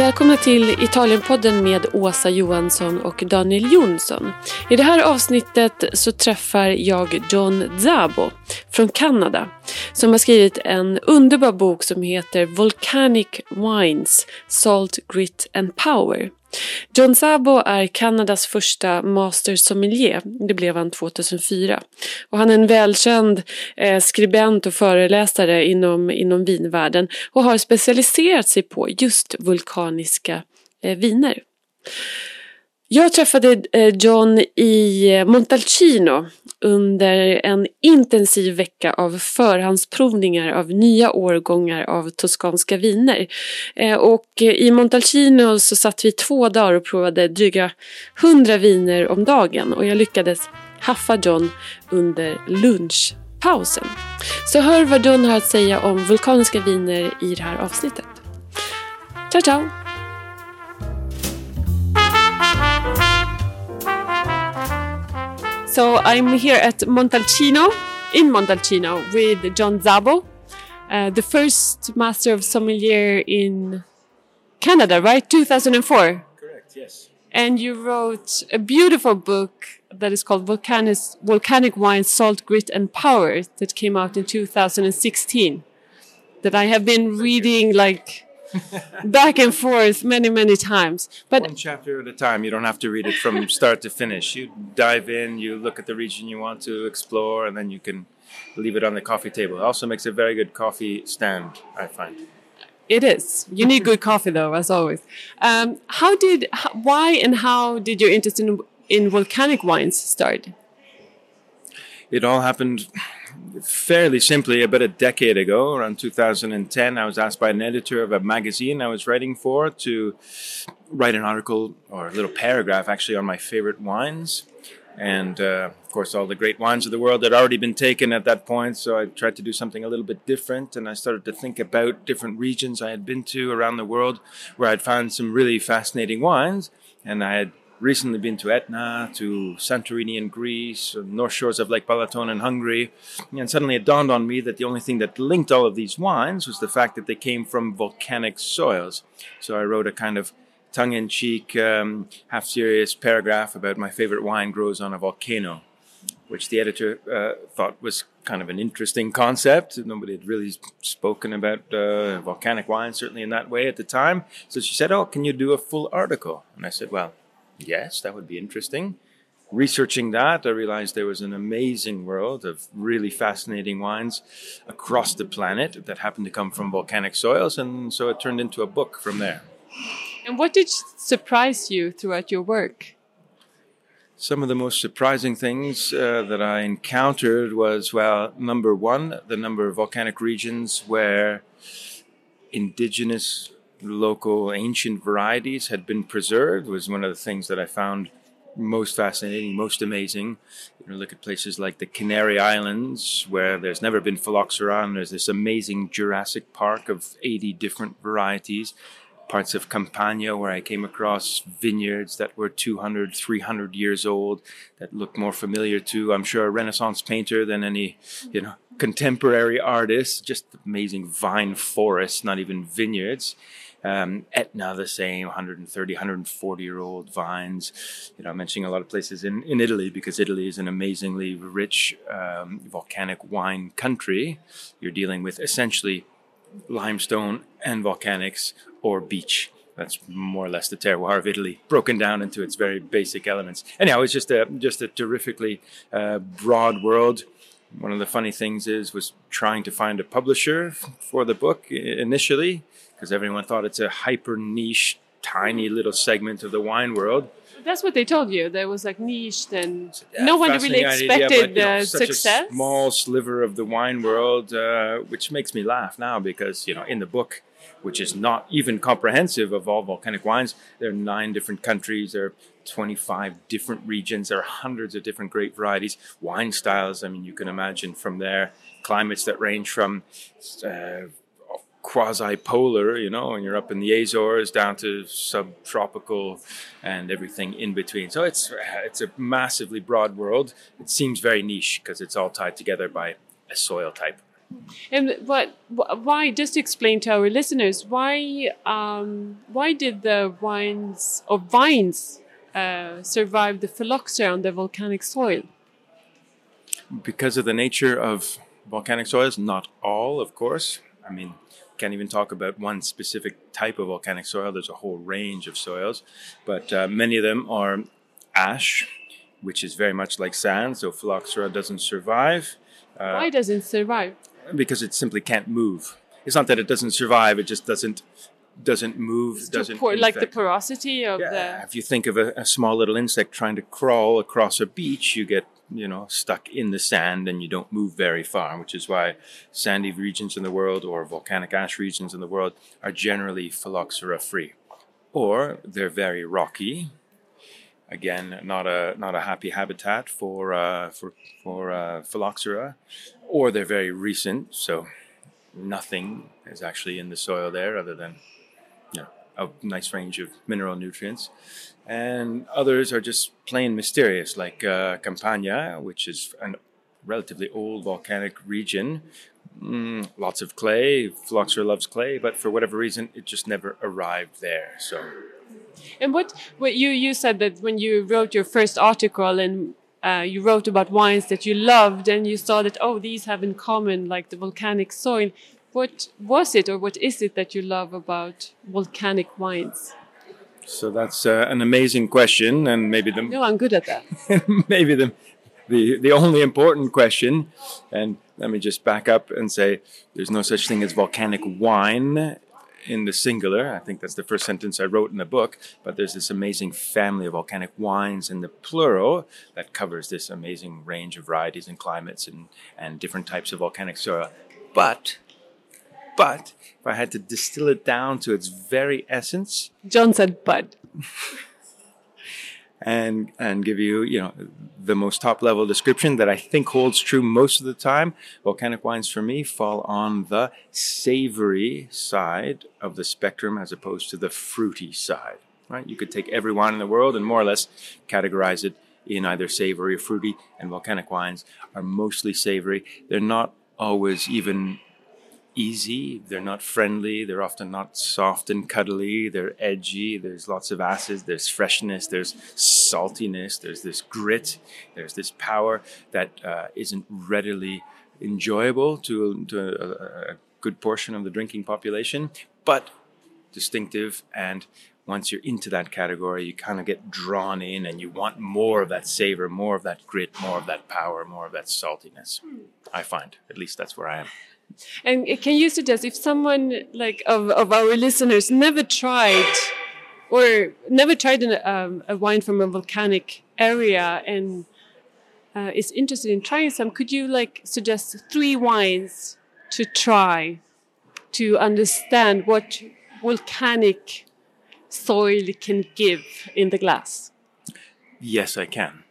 Välkomna till Italienpodden med Åsa Johansson och Daniel Jonsson. I det här avsnittet så träffar jag John Szabo från Kanada som har skrivit en underbar bok som heter Volcanic Wines, Salt, Grit and Power. John Szabo är Kanadas första master sommelier, det blev han 2004. Och han är en välkänd skribent och föreläsare inom vinvärlden och har specialiserat sig på just vulkaniska viner. Jag träffade John i Montalcino under en intensiv vecka av förhandsprovningar av nya årgångar av toskanska viner. Och i Montalcino så satt vi 2 dagar och provade dryga 100 viner om dagen. Och jag lyckades haffa John under lunchpausen. Så hör vad John har att säga om vulkaniska viner i det här avsnittet. Ciao, ciao! So I'm here at Montalcino, in Montalcino, with John Szabo, the first master of sommelier in Canada, right? 2004. Correct, yes. And you wrote a beautiful book that is called Volcanic Wines, Salt, Grit and Power that came out in 2016 that I have been reading like back and forth many times. But one chapter at a time. You don't have to read it from start to finish. You dive in, you look at the region you want to explore, and then you can leave it on the coffee table. It also makes a very good coffee stand, I find. It is. You need good coffee, though, as always. Why and how did your interest in volcanic wines start? It all happened fairly simply about a decade ago, around 2010. I was asked by an editor of a magazine I was writing for to write an article or a little paragraph actually on my favorite wines. And of course, all the great wines of the world had already been taken at that point. So I tried to do something a little bit different. And I started to think about different regions I had been to around the world where I'd found some really fascinating wines. And I had recently been to Etna, to Santorini in Greece, north shores of Lake Balaton in Hungary. And suddenly it dawned on me that the only thing that linked all of these wines was the fact that they came from volcanic soils. So I wrote a kind of tongue-in-cheek, half-serious paragraph about my favorite wine grows on a volcano, which the editor thought was kind of an interesting concept. Nobody had really spoken about volcanic wine, certainly in that way at the time. So she said, "Oh, can you do a full article?" And I said, "Well, yes, that would be interesting." Researching that, I realized there was an amazing world of really fascinating wines across the planet that happened to come from volcanic soils, and so it turned into a book from there. And what did surprise you throughout your work? Some of the most surprising things that I encountered was, well, number one, the number of volcanic regions where indigenous, local, ancient varieties had been preserved was one of the things that I found most fascinating, most amazing. You know, look at places like the Canary Islands, where there's never been phylloxera, and there's this amazing Jurassic Park of 80 different varieties. Parts of Campania where I came across vineyards that were 200, 300 years old that looked more familiar to, I'm sure, a Renaissance painter than any, contemporary artist. Just amazing vine forests, not even vineyards. Etna, the same, 130, 140-year-old vines. I'm mentioning a lot of places in Italy because Italy is an amazingly rich volcanic wine country. You're dealing with essentially limestone and volcanics or beach. That's more or less the terroir of Italy, broken down into its very basic elements. Anyhow, it's just a terrifically broad world. One of the funny things was trying to find a publisher for the book initially, because everyone thought it's a hyper niche, tiny little segment of the wine world. That's what they told you. There was like niched and no one really expected success. Such a small sliver of the wine world, which makes me laugh now because, in the book, which is not even comprehensive of all volcanic wines, there are 9 different countries, there are 25 different regions, there are hundreds of different grape varieties, wine styles. I mean, you can imagine from there, climates that range from quasi-polar, when you're up in the Azores, down to subtropical and everything in between. So it's a massively broad world. It seems very niche because it's all tied together by a soil type. And why? Just to explain to our listeners, why did the vines survive the phylloxera on the volcanic soil? Because of the nature of volcanic soils, not all, of course. I mean, can't even talk about one specific type of volcanic soil. There's a whole range of soils, but many of them are ash, which is very much like sand, so phylloxera doesn't survive. Why doesn't it survive? Because it simply can't move. It's not that it doesn't survive; it just doesn't move. Like the porosity of the. If you think of a small little insect trying to crawl across a beach, you get stuck in the sand and you don't move very far, which is why sandy regions in the world or volcanic ash regions in the world are generally phylloxera free, or they're very rocky. Again, not a happy habitat for phylloxera, or they're very recent, so nothing is actually in the soil there other than a nice range of mineral nutrients. And others are just plain mysterious, like Campania, which is a relatively old volcanic region. Lots of clay. Phylloxera loves clay, but for whatever reason, it just never arrived there. So. And what you said that when you wrote your first article and you wrote about wines that you loved and you saw that, these have in common like the volcanic soil. What was it or what is it that you love about volcanic wines? So that's an amazing question, and maybe No, I'm good at that. maybe the only important question. And let me just back up and say there's no such thing as volcanic wine in the singular. I think that's the first sentence I wrote in the book, but there's this amazing family of volcanic wines in the plural that covers this amazing range of varieties and climates and different types of volcanic soil. But if I had to distill it down to its very essence, John said bud. and give you, the most top level description that I think holds true most of the time, volcanic wines for me fall on the savory side of the spectrum as opposed to the fruity side, right? You could take every wine in the world and more or less categorize it in either savory or fruity, and volcanic wines are mostly savory. They're not always even easy, they're not friendly, they're often not soft and cuddly, they're edgy, there's lots of acids, there's freshness, there's saltiness, there's this grit, there's this power that isn't readily enjoyable to a good portion of the drinking population, but distinctive. And once you're into that category, you kind of get drawn in and you want more of that savor, more of that grit, more of that power, more of that saltiness. I find, at least that's where I am. And can you suggest if someone like of our listeners never tried a wine from a volcanic area and is interested in trying some, could you suggest 3 wines to try to understand what volcanic soil can give in the glass? Yes, I can.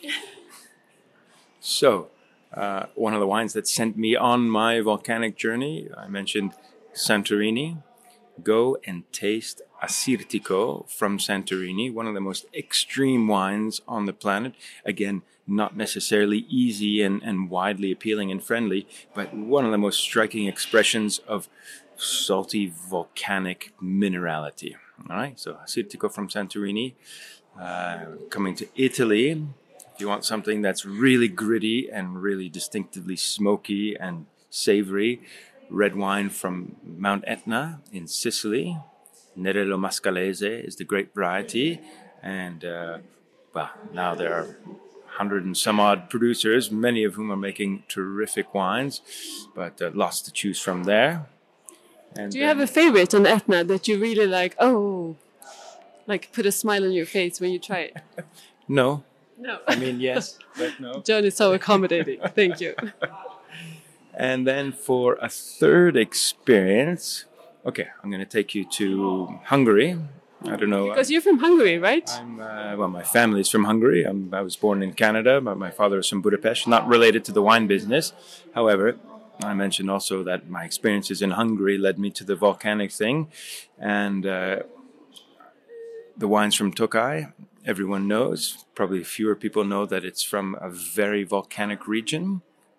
So, one of the wines that sent me on my volcanic journey, I mentioned Santorini. Go and taste Assyrtiko from Santorini, one of the most extreme wines on the planet. Again, not necessarily easy and widely appealing and friendly, but one of the most striking expressions of salty volcanic minerality. All right, so Assyrtiko from Santorini. Coming to Italy, if you want something that's really gritty and really distinctively smoky and savory, red wine from Mount Etna in Sicily. Nerello Mascalese is the grape variety. And, now there are 100 and some odd producers, many of whom are making terrific wines, but lots to choose from there. And do you have a favorite on Etna that you really like? Put a smile on your face when you try it? No. No. I mean, yes, but no. John is so accommodating. Thank you. And then for a third experience, okay, I'm going to take you to Hungary. I don't know. Because you're from Hungary, right? My family's from Hungary. I was born in Canada, but my father is from Budapest, not related to the wine business. However, I mentioned also that my experiences in Hungary led me to the volcanic thing. And the wines from Tokaj, everyone knows. Probably fewer people know that it's from a very volcanic region.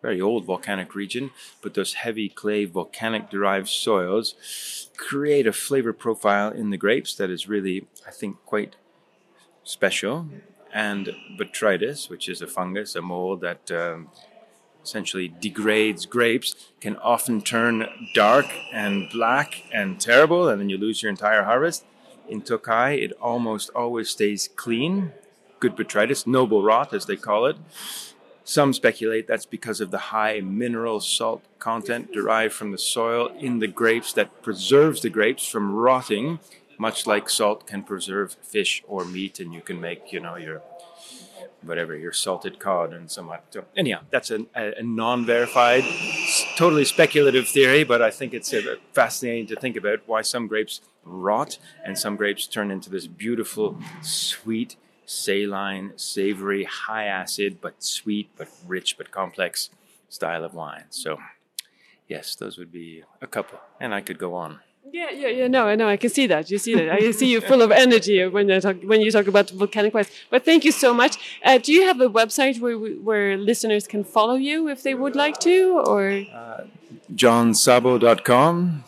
very old volcanic region, but those heavy clay volcanic-derived soils create a flavor profile in the grapes that is really, I think, quite special. And botrytis, which is a fungus, a mold that essentially degrades grapes, can often turn dark and black and terrible, and then you lose your entire harvest. In Tokai, it almost always stays clean. Good botrytis, noble rot as they call it. Some speculate that's because of the high mineral salt content derived from the soil in the grapes that preserves the grapes from rotting, much like salt can preserve fish or meat, and you can make, your salted cod and somewhat. So anyhow, that's a non-verified, totally speculative theory, but I think it's fascinating to think about why some grapes rot and some grapes turn into this beautiful, sweet, saline, savory, high acid, but sweet, but rich, but complex style of wine. So yes, those would be a couple, and I could go on. Yeah. No, I know. I can see that. You see that. I see you full of energy when you talk about volcanic wines. But thank you so much. Do you have a website where listeners can follow you if they would like to, or? JohnSzabo.com,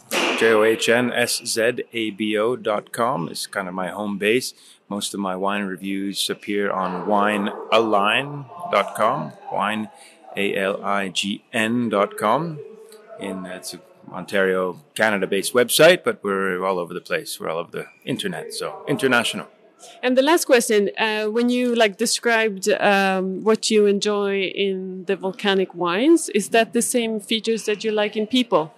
JohnSzabo.com is kind of my home base. Most of my wine reviews appear on winealign.com, winealign.com. It's Ontario, Canada-based website, but we're all over the place. We're all over the internet, so international. And the last question, when you described what you enjoy in the volcanic wines, is that the same features that you like in people?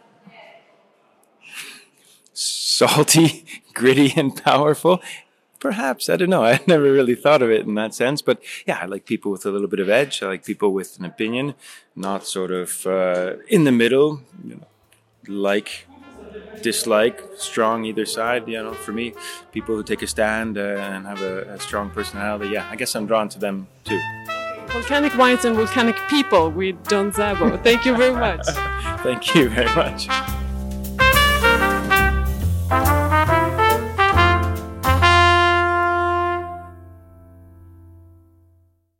Salty, gritty, and powerful. Perhaps, I don't know. I never really thought of it in that sense. But yeah, I like people with a little bit of edge. I like people with an opinion, not sort of in the middle, like, dislike, strong either side. For me, people who take a stand and have a strong personality, yeah, I guess I'm drawn to them too. Volcanic wines and volcanic people with John Szabo. Thank you very much. Thank you very much.